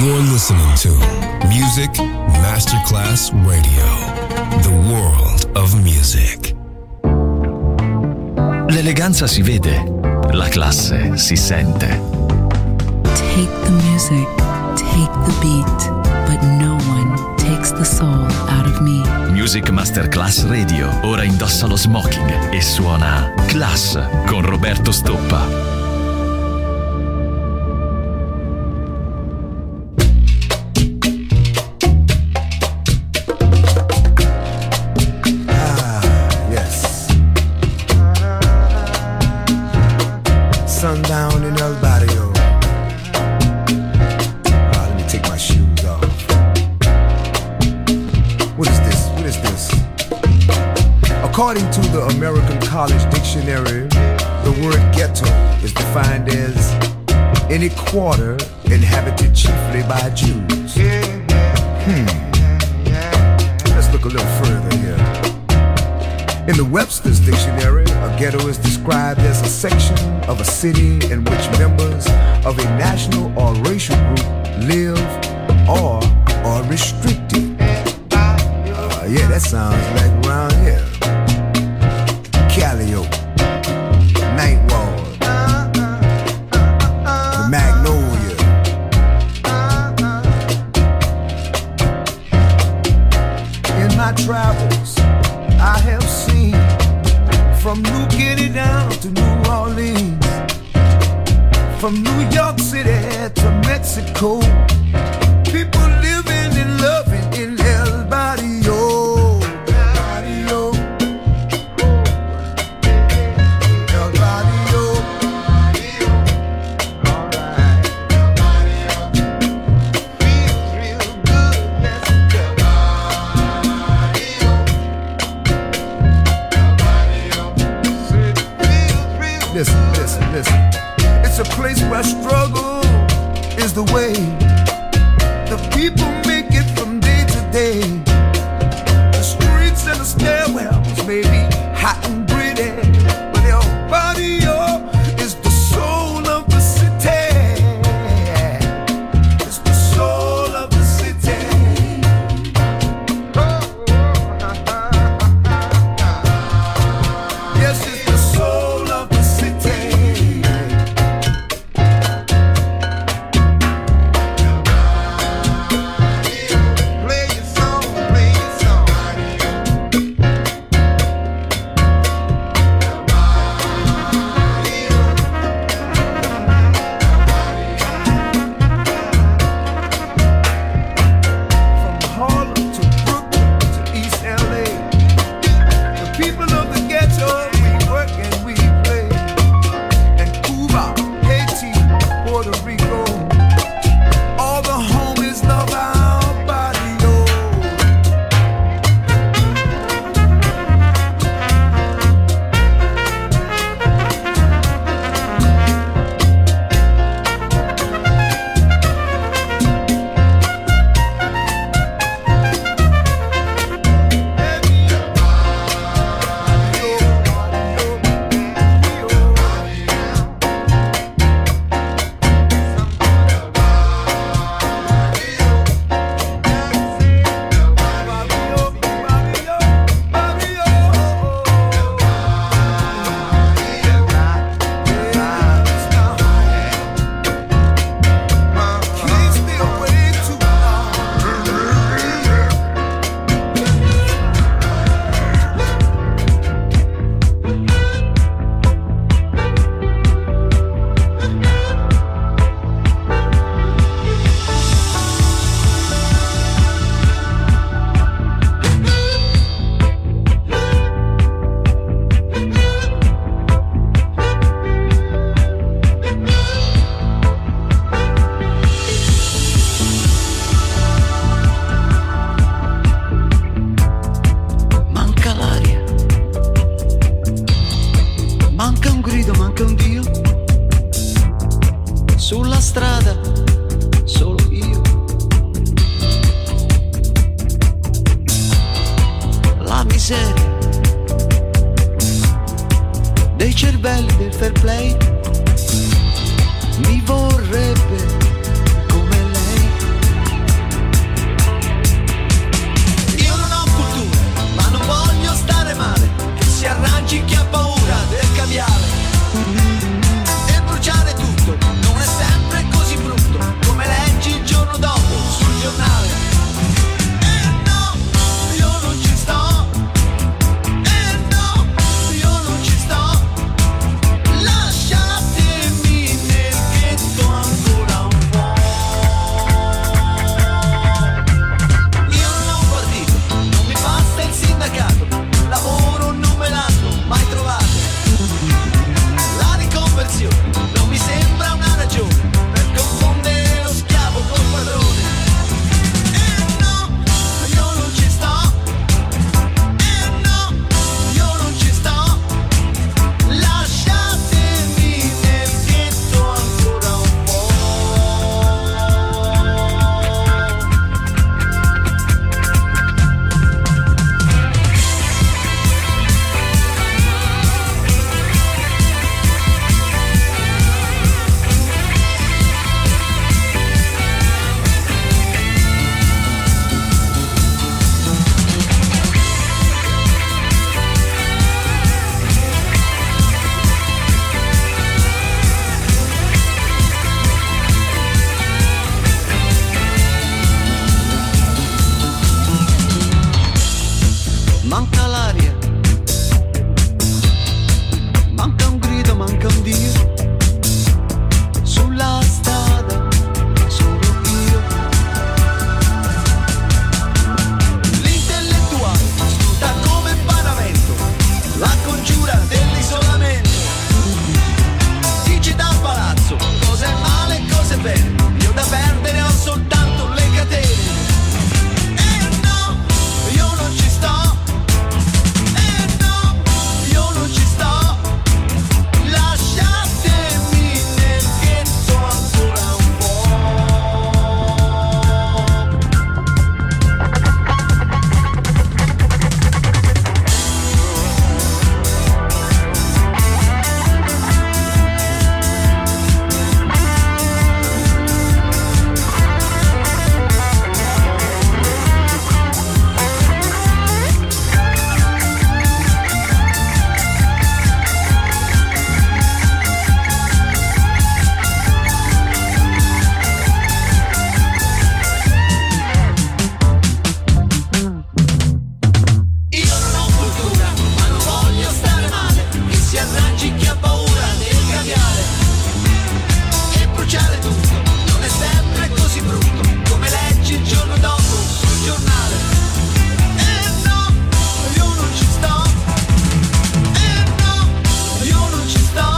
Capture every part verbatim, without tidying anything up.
You're listening to Music Masterclass Radio, the world of music. L'eleganza si vede, la classe si sente. Take the music, take the beat, but no one takes the soul out of me. Music Masterclass Radio ora indossa lo smoking e suona Class con Roberto Stoppa. Sundown in El Barrio. Ah, let me take my shoes off. What is this? What is this? According to the American College Dictionary, the word ghetto is defined as any quarter inhabited chiefly by Jews. Hmm. Let's look a little further here. In the Webster's Dictionary, a ghetto is described as a section of a city in which members of a national or racial group live or are restricted. Uh, yeah, that sounds like around here. Calliope, Ninth Ward, the Magnolia. In my travels, I have seen from New Guinea down to New Orleans, from New York City to Mexico, people living and loving in El Barrio. Barrio. El Barrio. Alright. El Barrio. Feels real good, yes, El Barrio. Listen, listen, listen. It's a place where struggle is the way. The people make it from day to day. The streets and the stairwells may be hot and gritty, but El Barrio is the soul of the city. It's the soul of the city. Yes, it's the soul of the city. Play your song, play your song. From Harlem to Brooklyn to East L A, the people of the ghetto, we work and we play. And Cuba, Haiti, Puerto Rico, all the homies love our barrio. Can't stay away too long. Manca l'aria, manca un grido, manca un Dio. Sulla strada, solo io. La miseria dei cervelli del fair play mi vorrebbe come lei. io da perdere ho soltanto le catene. E no, io non ci sto. E no, io non ci sto. Lasciatemi nel ghetto ancora un po'. Io non ho cultura, ma non voglio stare male. Chi si arrangi, chi ha paura del cambiare e bruciare tutto. Non è sempre così brutto come leggi il giorno dopo sul giornale. E no, io non ci sto. E no, io non ci sto.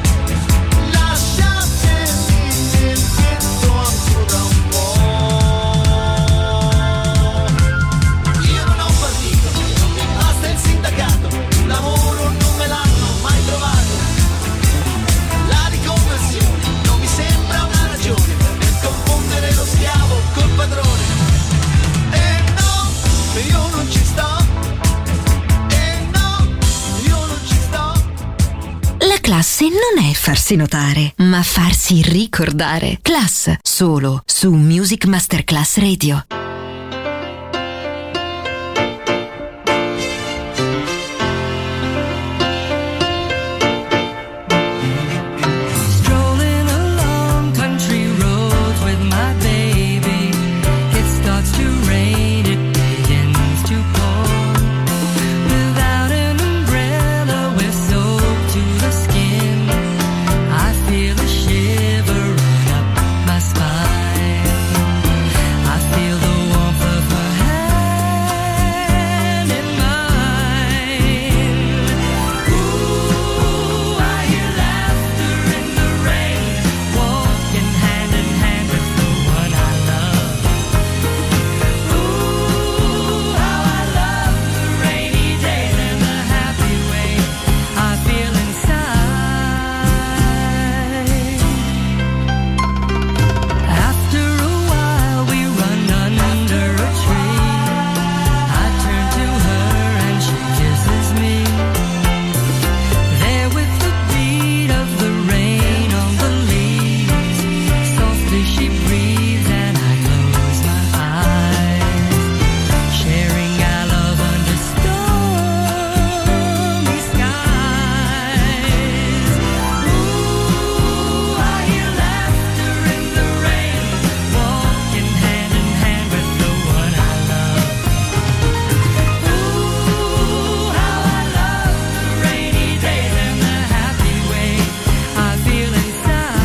Lasciatemi nel ghetto ancora un po'. Io non ho partito, non mi basta il sindacato, un lavoro non me l'hanno mai trovato. La riconversione non mi sembra una ragione per confondere lo schiavo col padrone. E no, io non ci sto. E no, io non ci sto. La classe non è farsi notare, ma farsi ricordare. Class, solo su Music Masterclass Radio. Strolling along country roads with my baby. It starts to rain, it begins to pour. Without an umbrella, we're soaked to the skin. I feel a shiver run up my spine. I feel the warmth of her hand in mine. Ooh, I hear laughter in the rain, walking hand in hand with the one I love. Ooh, how I love the rainy days and the happy way I feel inside. After a while we run under a tree. I turn to her and she kisses me. There with the beat of the rain on the leaves, softly she breathes and I close my eyes, sharing our love under stormy skies. Ooh, I hear laughter in the rain, walking hand in hand with the one I love. Ooh, how I love the rainy days and the happy way I feel inside.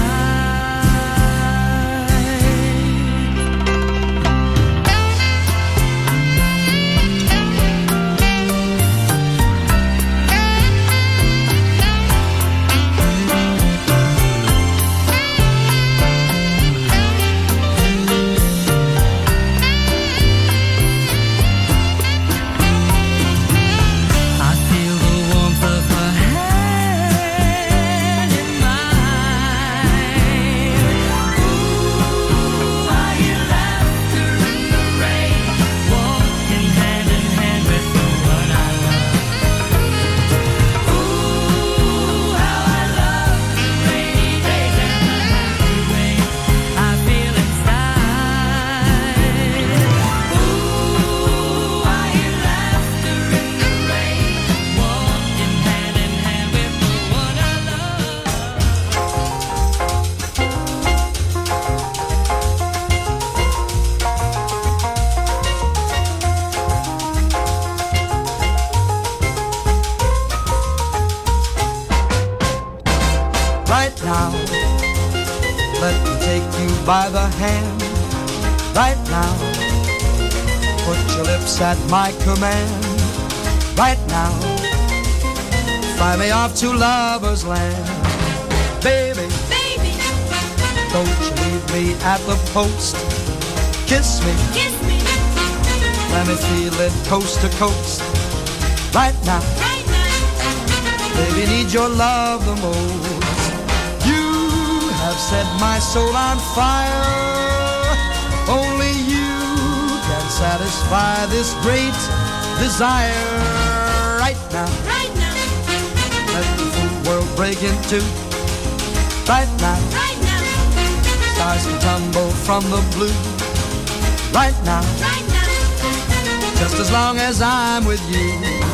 I feel the warmth of her hand in mine. Ooh, I hear laughter in the rain, walking hand in hand with the one I love. Ooh, how I love the rainy days and the happy way I feel inside. Ooh, I hear laughter in the rain, walking hand in hand with the one I love. Right now, let me take you by the hand. Right now, put your lips at my command. Right now, fly me off to lover's land. Baby, Baby, don't you leave me at the post. Kiss me, Kiss me, let me feel it coast to coast. Right now, right now. baby, need your love the most. You have set my soul on fire. Only you can satisfy this great desire. Right now, Right now, let the full world break in two. Right now, right now, stars can tumble from the blue. Right now, right now. just as long as I'm with you.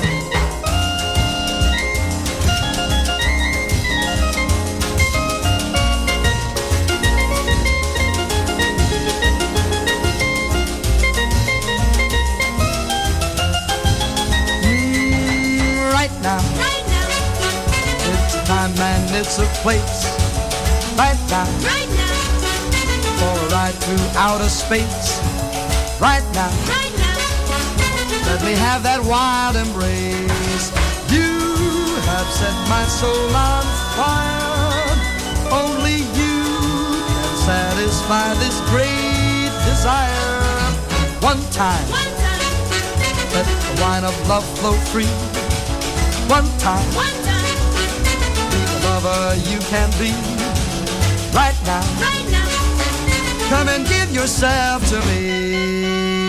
Mm, right now, Right now, it's a time and it's a place. Right now, right now, for a ride through outer space. Right now, right now. let me have that wild embrace. You have set my soul on fire. Only you can satisfy this great desire. One time, One time, let the wine of love flow free. One time, one time, be the lover you can be. Right now, right now. come and give yourself to me.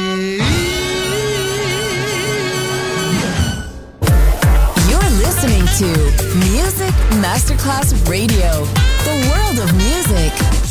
You're listening to Music Masterclass Radio, the world of music.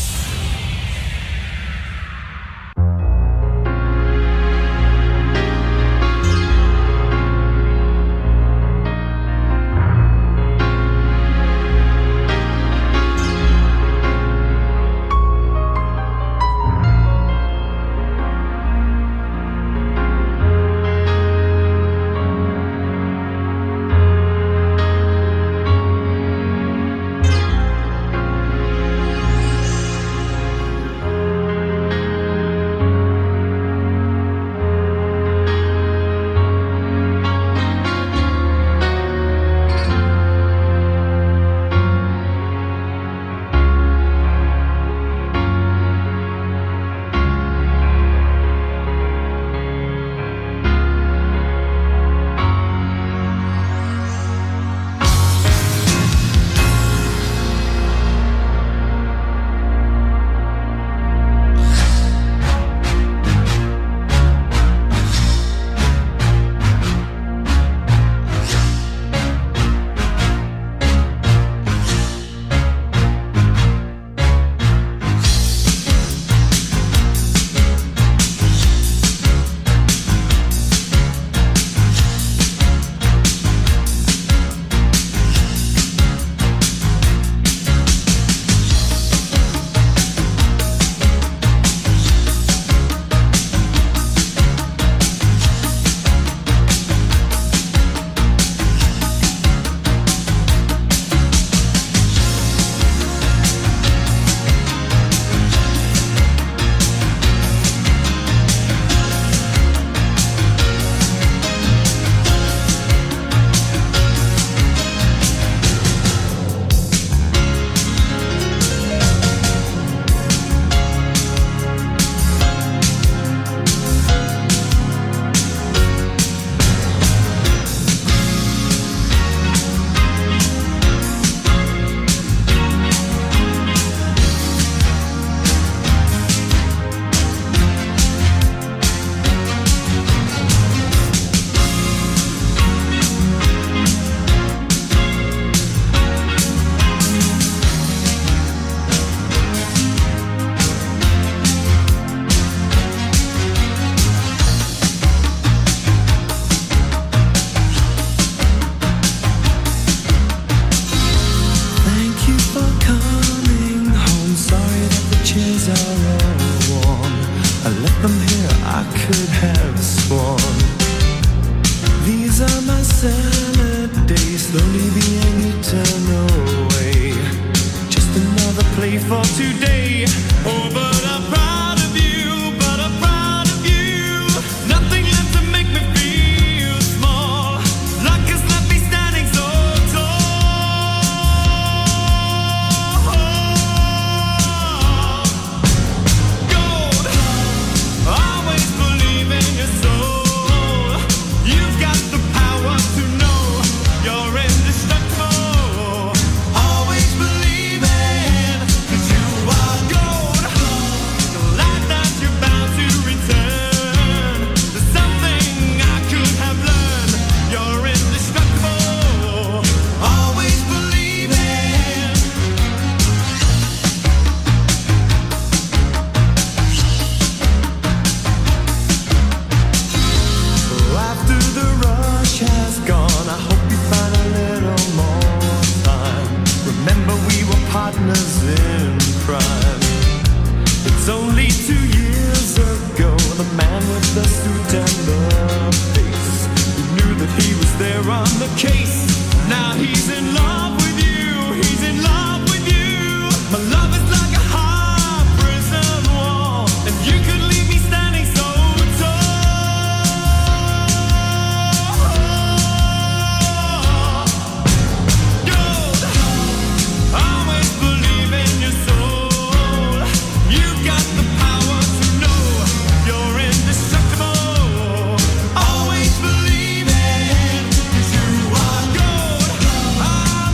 slowly being eaten away. Just another play for today. Oh, but I'm proud of you, but I'm proud of you. Nothing left to make me feel small. Luck has left me standing so tall. Only two years ago, the man with the suit and the face, you knew that he was there on the case. Now he's in love with you, he's in love with you. My love is like a high prison wall, and you could leave me standing so tall. Gold, always believe in your soul. You've got the power to know you're indestructible. Always believe it, 'cause you are gold.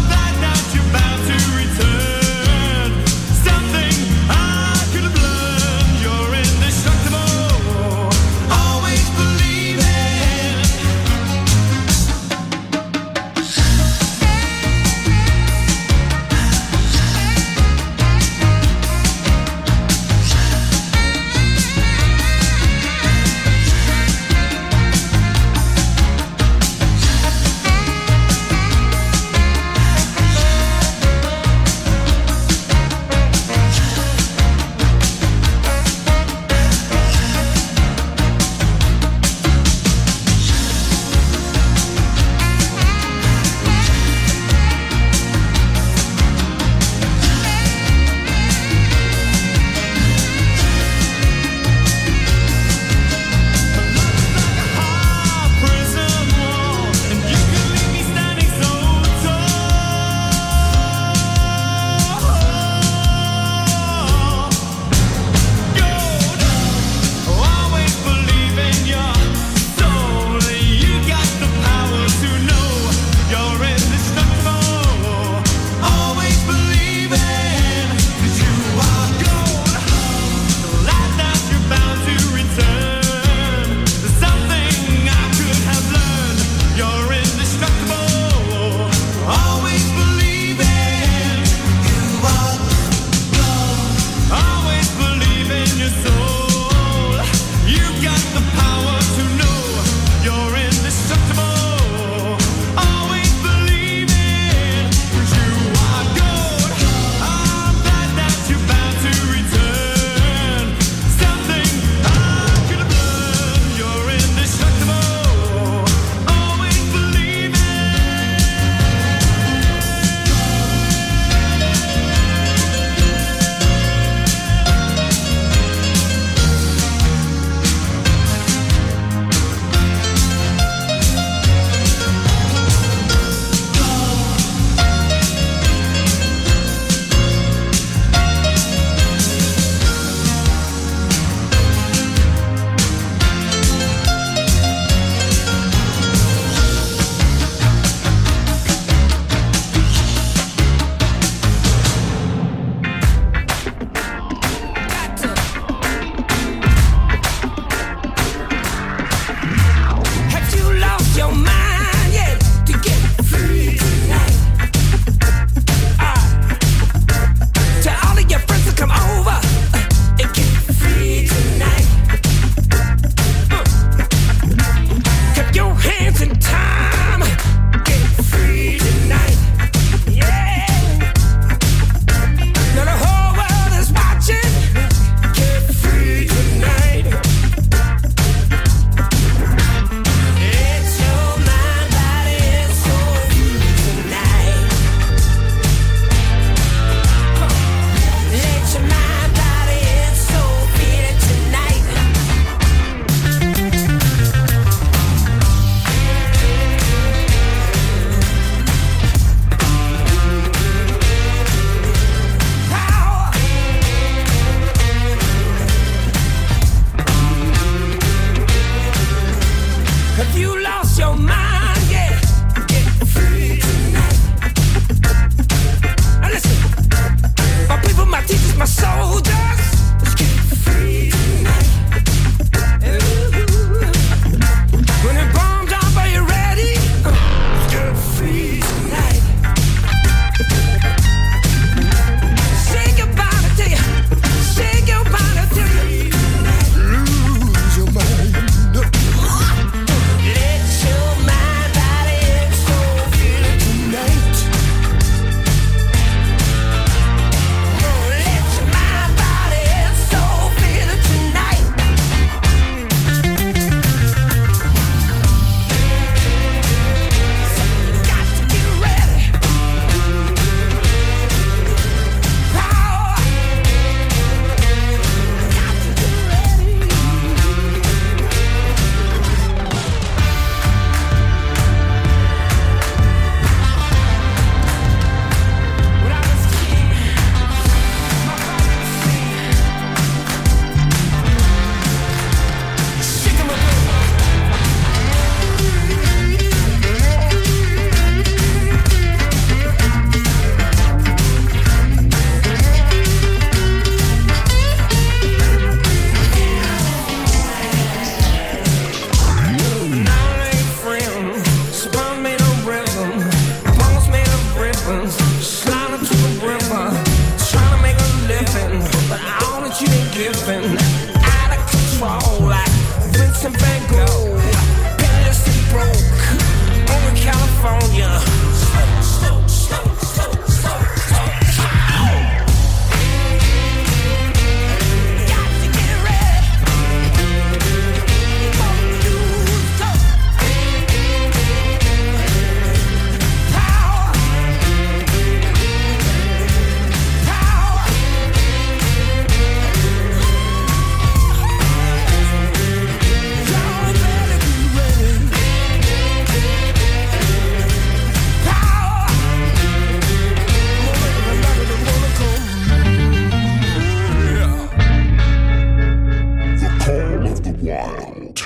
wild.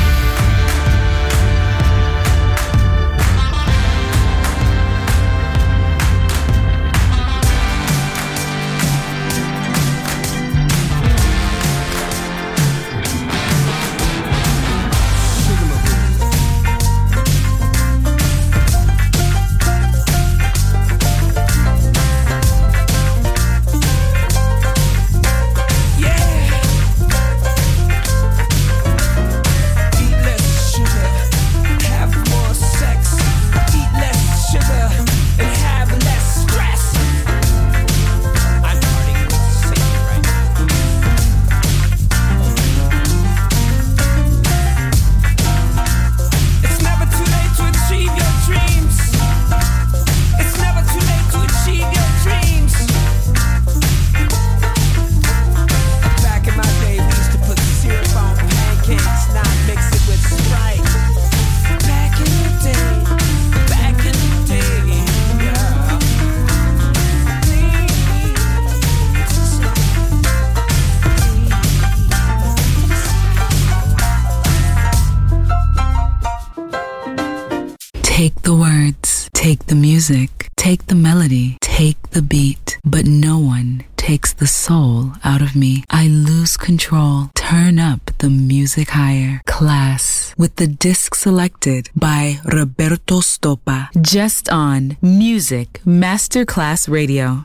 Take the words, take the music, take the melody, take the beat, but no one takes the soul out of me. I lose control. Turn up the music higher. Class with the disc selected by Roberto Stoppa. Just on Music Masterclass Radio.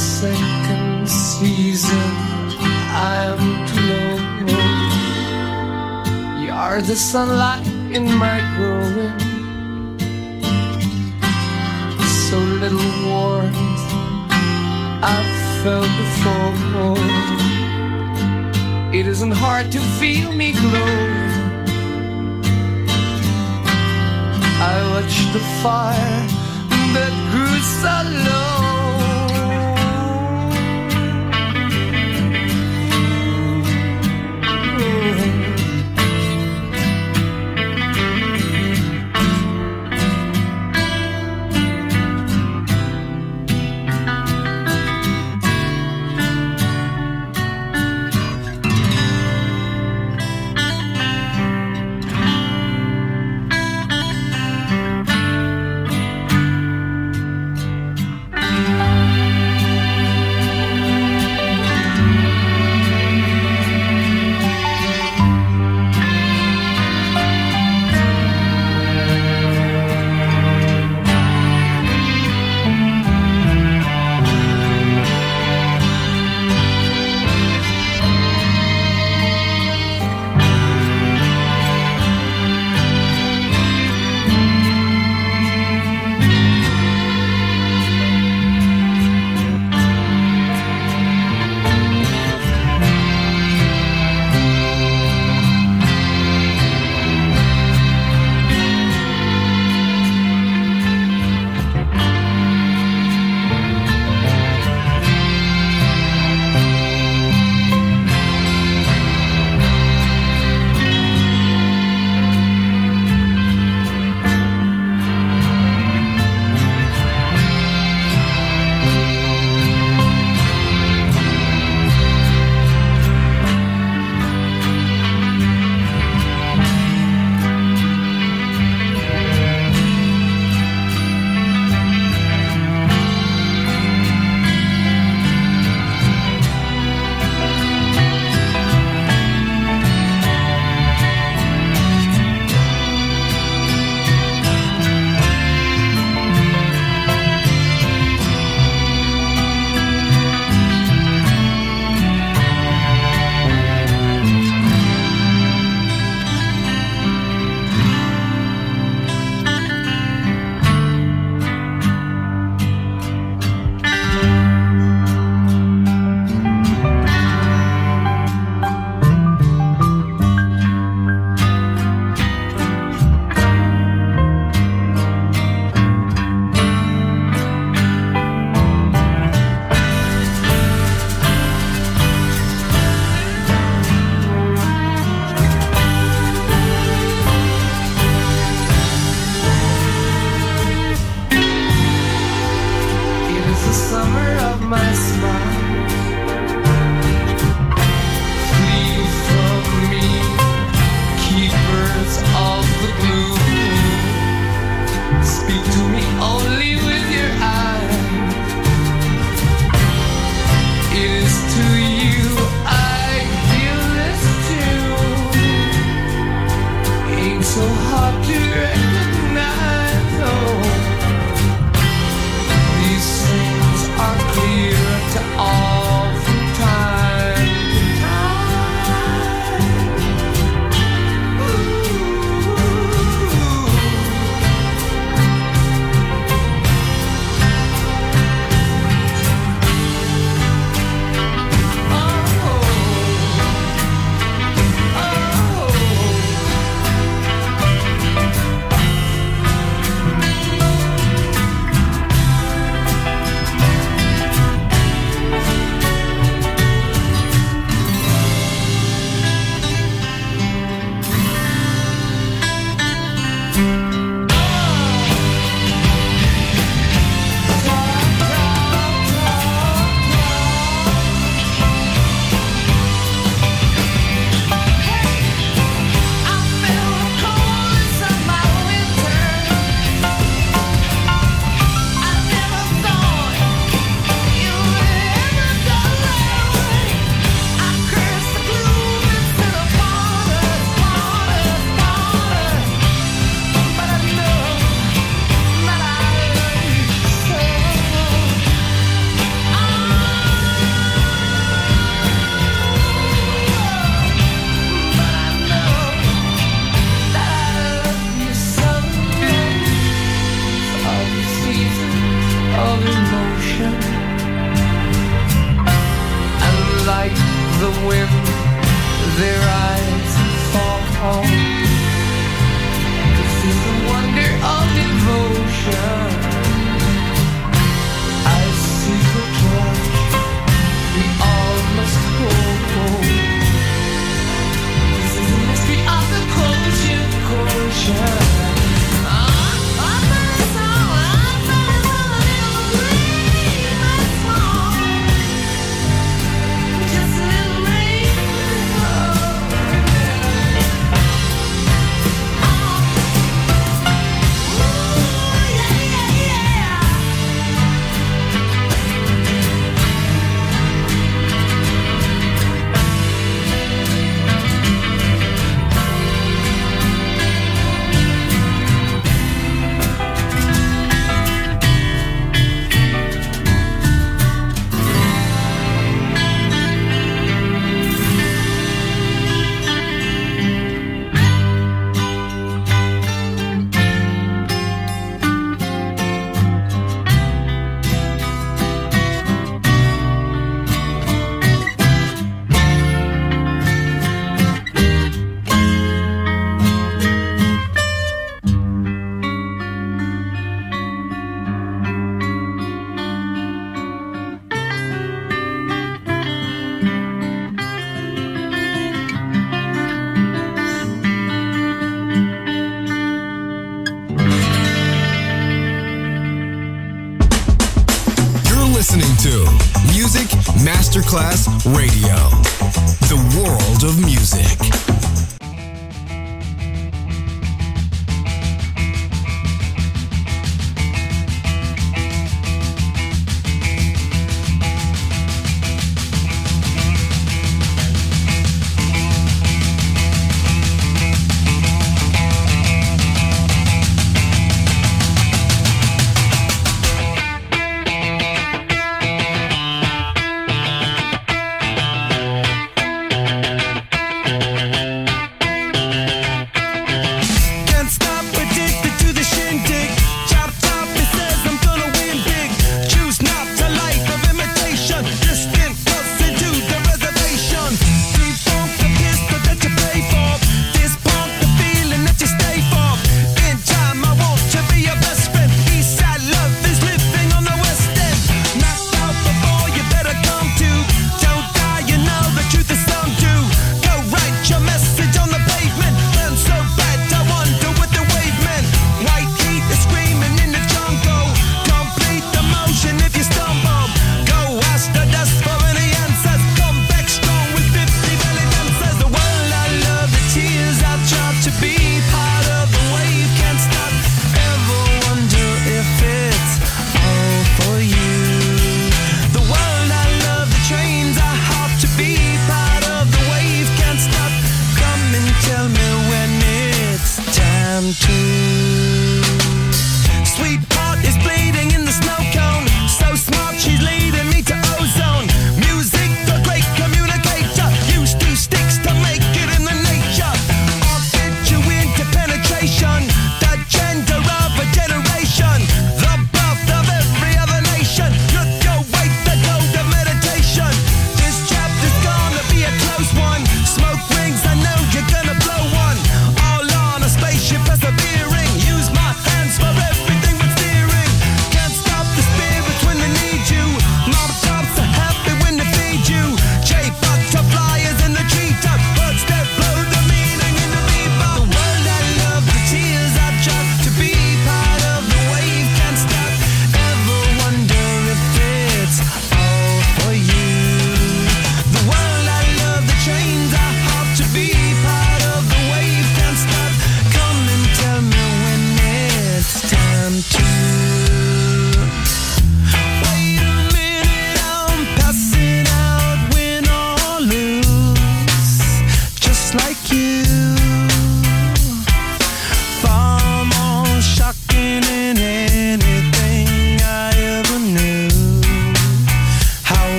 second season, I'm too low. You're the sunlight in my growing, so little warmth I've felt before. It isn't hard to feel me glow. I watched the fire that grew so low. These things are clear to when their eyes fall. This is the wonder of devotion. I see the torch we all must hold. This is the mystery of the quotient quotient. Listening to Music Masterclass Radio, the world of music.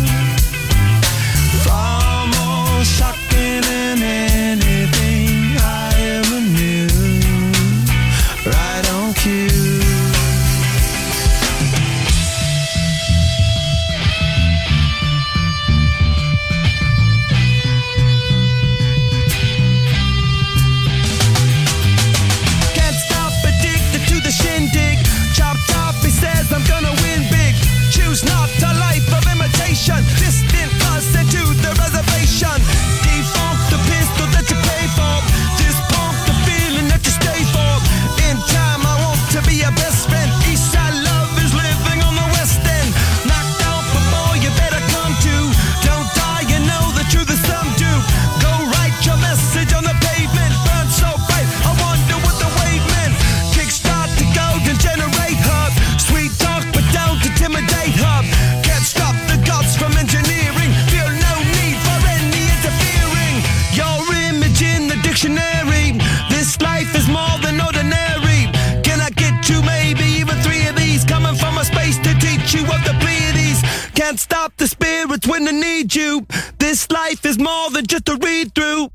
Far more shocking than anything I dictionary. This life is more than ordinary. Can I get you maybe even three of these? Coming from a space to teach you of the Pleiades. Can't stop the spirits when they need you. This life is more than just a read through.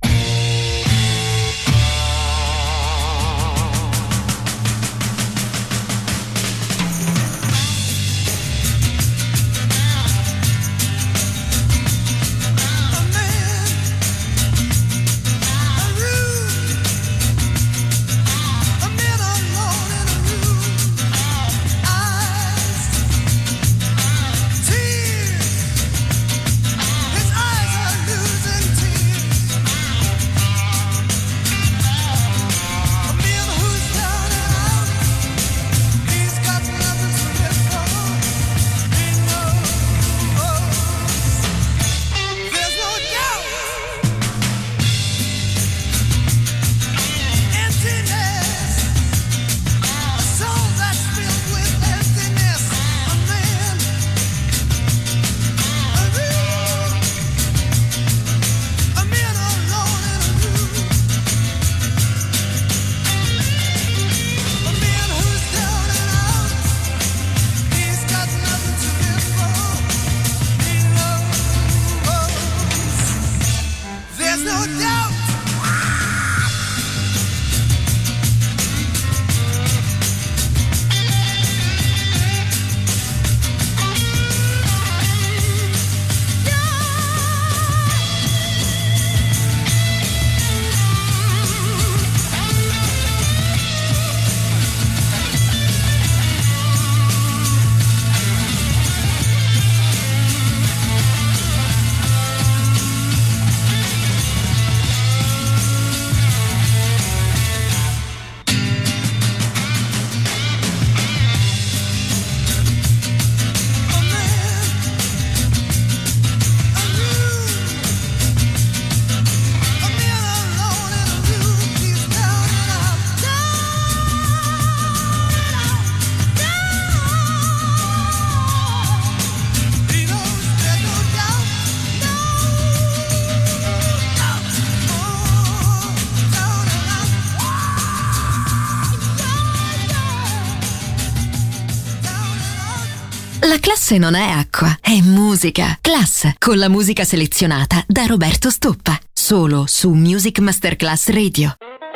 La classe non è acqua, è musica. Class, con la musica selezionata da Roberto Stoppa. Solo su Music Masterclass Radio.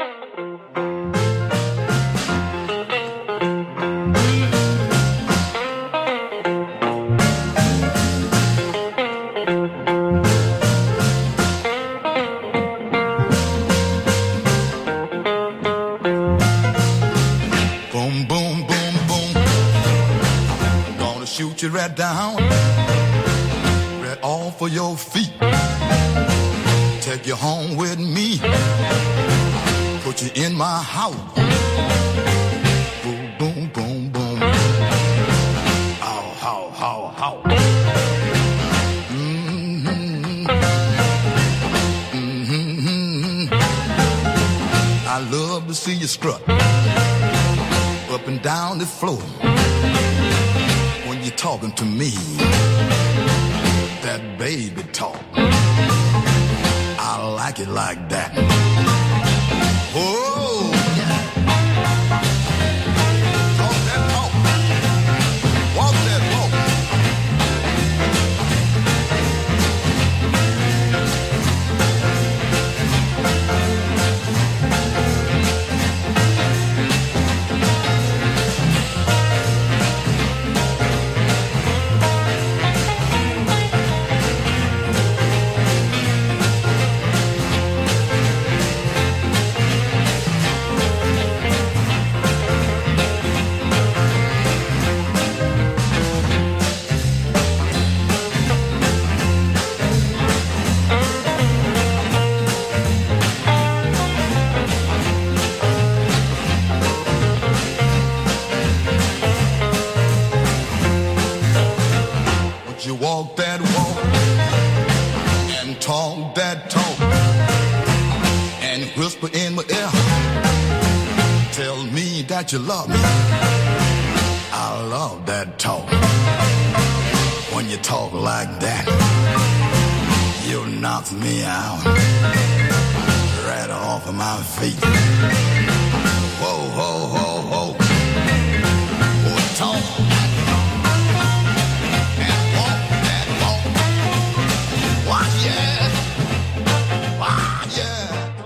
Boom, boom, boom, boom. Gonna shoot you right down, right off of your feet. Take you home with me, put you in my house. Boom, boom, boom, boom. Ow, how, how, how. Mm-hmm. Mm-hmm. I love to see you strut up and down the floor when you're talking to me. That baby talk, I like it like that. Oh, yeah. Talk that talk, walk that walk. You walk that walk and talk that talk and whisper in my ear, tell me that you love me. I love that talk. When you talk like that, you knock me out right off of my feet. Whoa, whoa, whoa, whoa. Oh, talk. And walk that walk. Why, yeah. Why, yeah.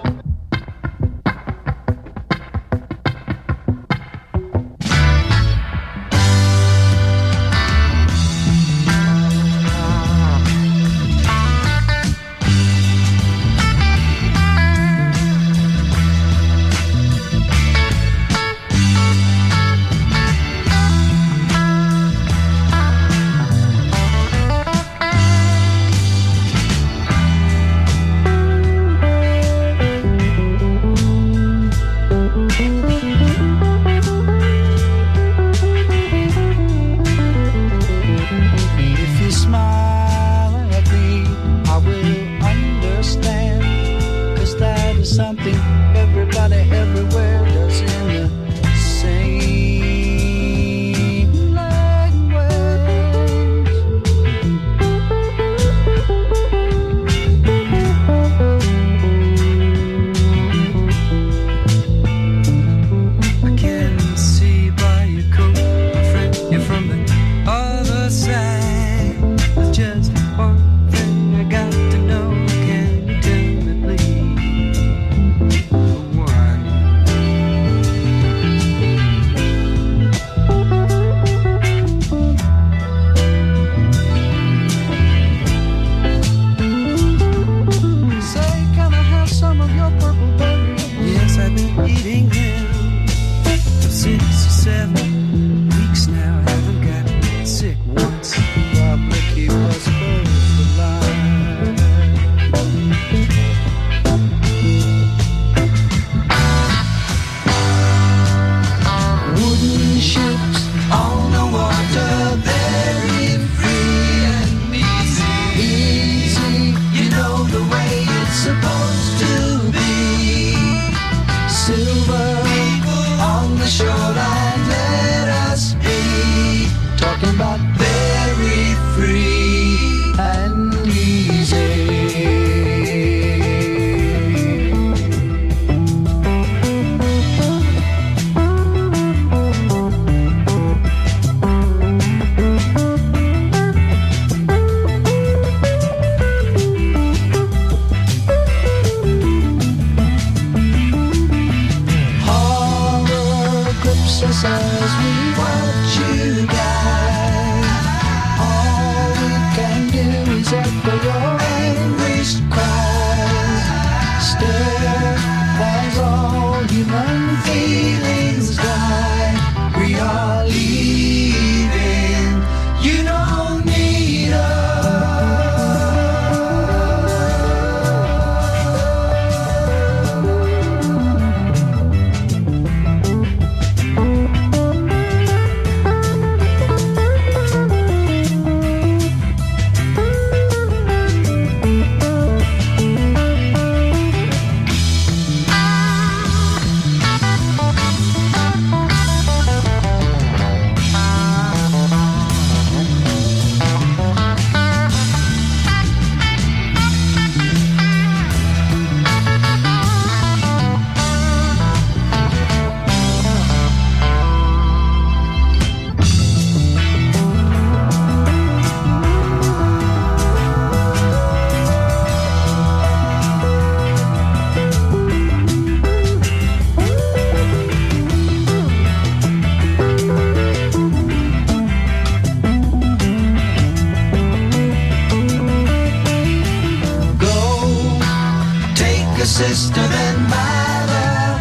Sister, then by the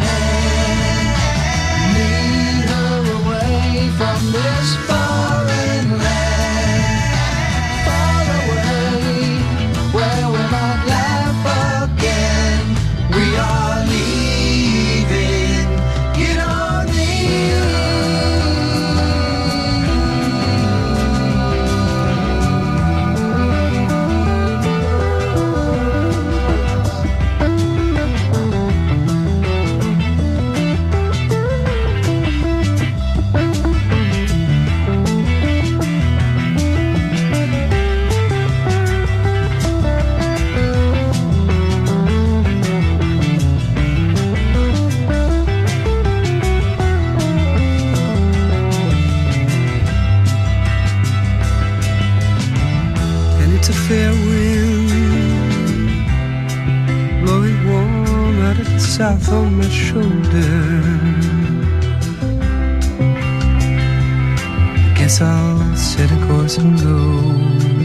hand, lead her away from this foreign land, far away, where we might laugh again. We are leaving, you don't need head south on my shoulder. Guess I'll set a course and go.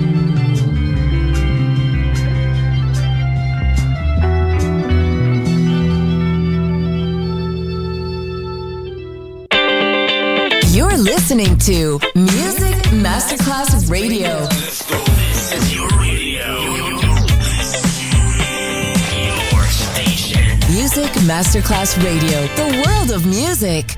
You're listening to Music Masterclass Radio. This is your radio. Your station. Music Masterclass Radio. The world of music.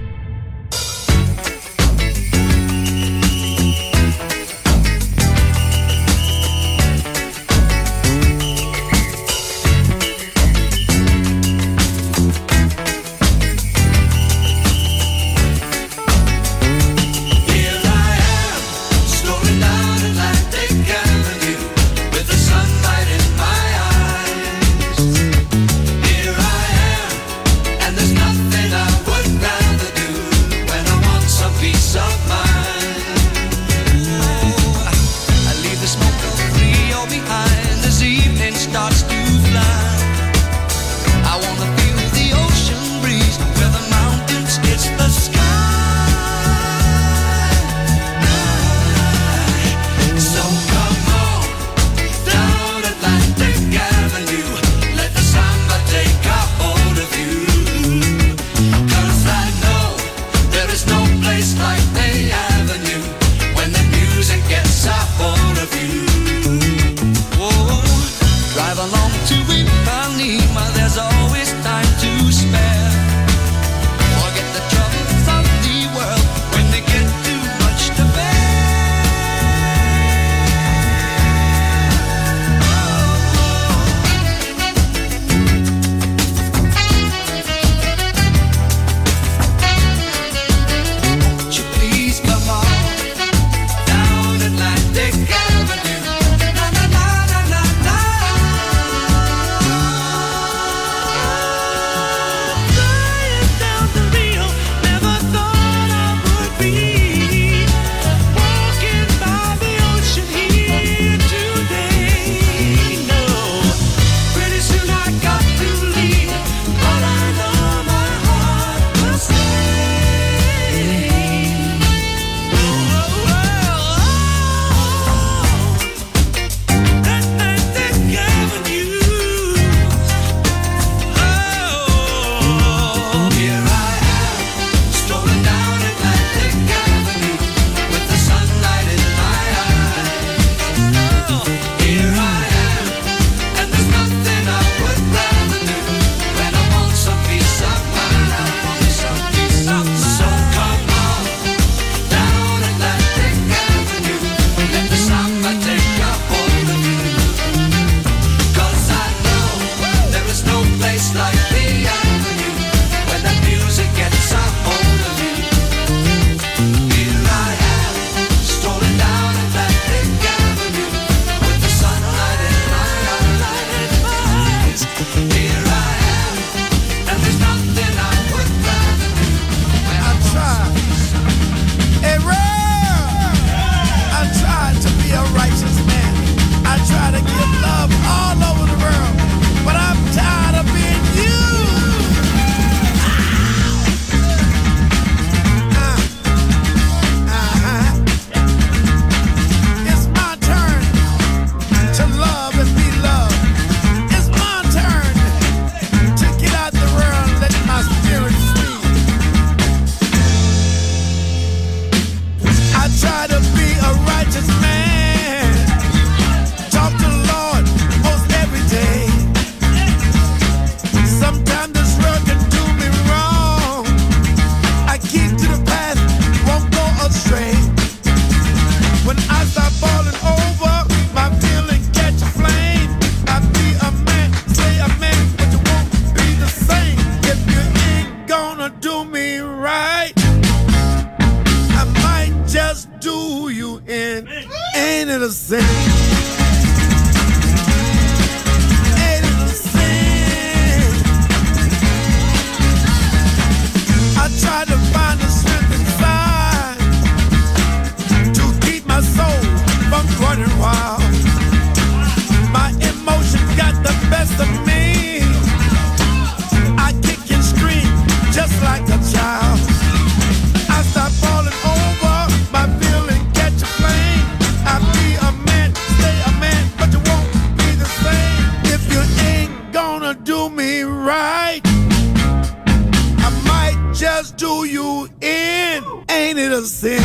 right, I might just do you in. Ain't it a sin?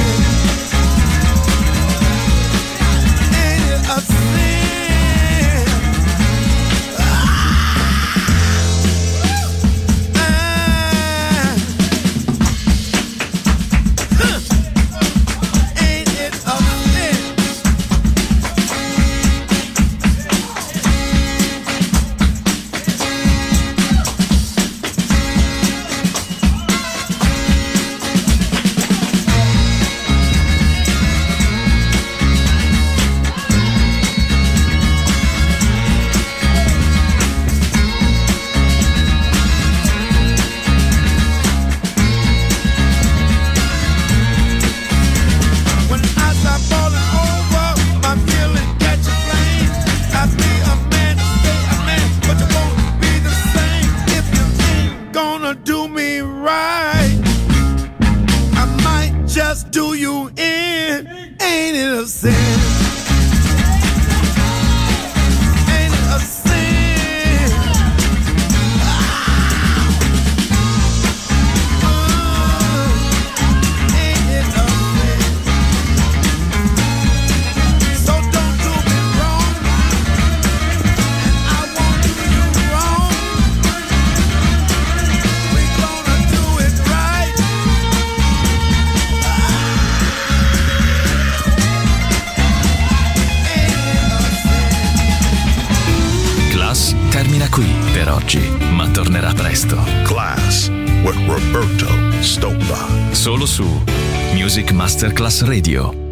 Ain't it a sin? Do you in? Ain't it a sin? Ain't it a sin? Ah. Uh, ain't it a sin? So don't do me wrong, and I won't do you wrong. We gonna do it right. Class termina qui per oggi, ma tornerà presto. Class with Roberto Stoppa. Solo su Music Masterclass Radio.